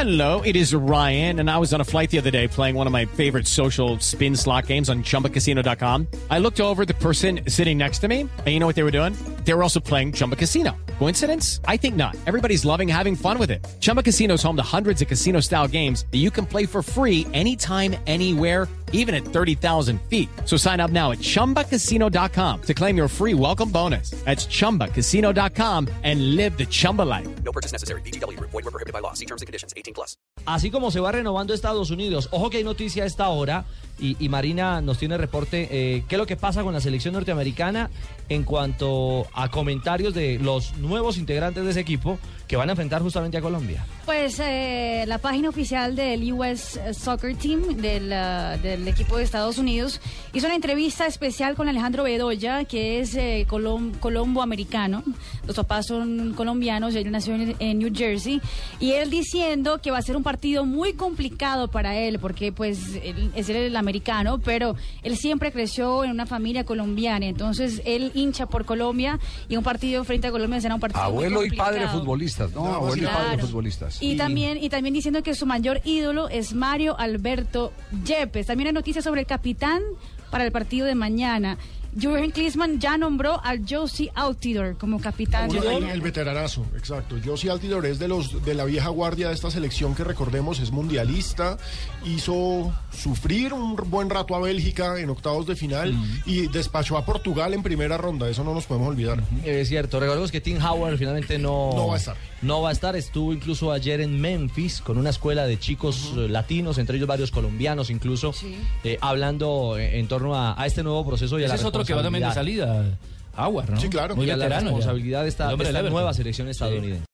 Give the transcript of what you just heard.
Hello, it is Ryan, and I was on a flight the other day playing one of my favorite social spin slot games on ChumbaCasino.com. I looked over at the person sitting next to me, and you know what they were doing? They were also playing Chumba Casino. Coincidence? I think not. Everybody's loving having fun with it. Chumba Casino is home to hundreds of casino-style games that you can play for free anytime, anywhere, even at 30,000 feet. So sign up now at ChumbaCasino.com to claim your free welcome bonus. That's ChumbaCasino.com and live the Chumba life. No purchase necessary. VGW. Void were prohibited by law. See terms and conditions. 18+. Así como se va renovando Estados Unidos, ojo que hay noticia a esta hora y Marina nos tiene reporte, qué es lo que pasa con la selección norteamericana en cuanto a comentarios de los nuevos integrantes de ese equipo que van a enfrentar justamente a Colombia. Pues la página oficial del US Soccer Team del equipo de Estados Unidos hizo una entrevista especial con Alejandro Bedoya, que es colombo-americano. Los papás son colombianos, él nació en New Jersey, y él diciendo que va a ser un partido muy complicado para él, porque pues él es el americano, pero él siempre creció en una familia colombiana, entonces él hincha por Colombia, y un partido frente a Colombia será un partido abuelo muy complicado. Y padre futbolistas, ¿no? Abuelo y padre futbolistas. Y también diciendo que su mayor ídolo es Mario Alberto Yepes. También hay noticias sobre el capitán para el partido de mañana. Jürgen Klinsmann ya nombró a Jozy Altidore como capitán de mañana. El veteranazo, exacto. Jozy Altidore es de la vieja guardia de esta selección que, recordemos, es mundialista, hizo sufrir un buen rato a Bélgica en octavos de final y despachó a Portugal en primera ronda, eso no nos podemos olvidar. Es cierto, recordemos que Tim Howard finalmente no va a estar. No va a estar, estuvo incluso ayer en Memphis con una escuela de chicos latinos, entre ellos varios colombianos incluso, hablando en torno a este nuevo proceso y a la responsabilidad. Que va también de salida, Howard, ¿no? Sí, claro. Muy veterano. La responsabilidad de esta nueva Everton. selección estadounidense.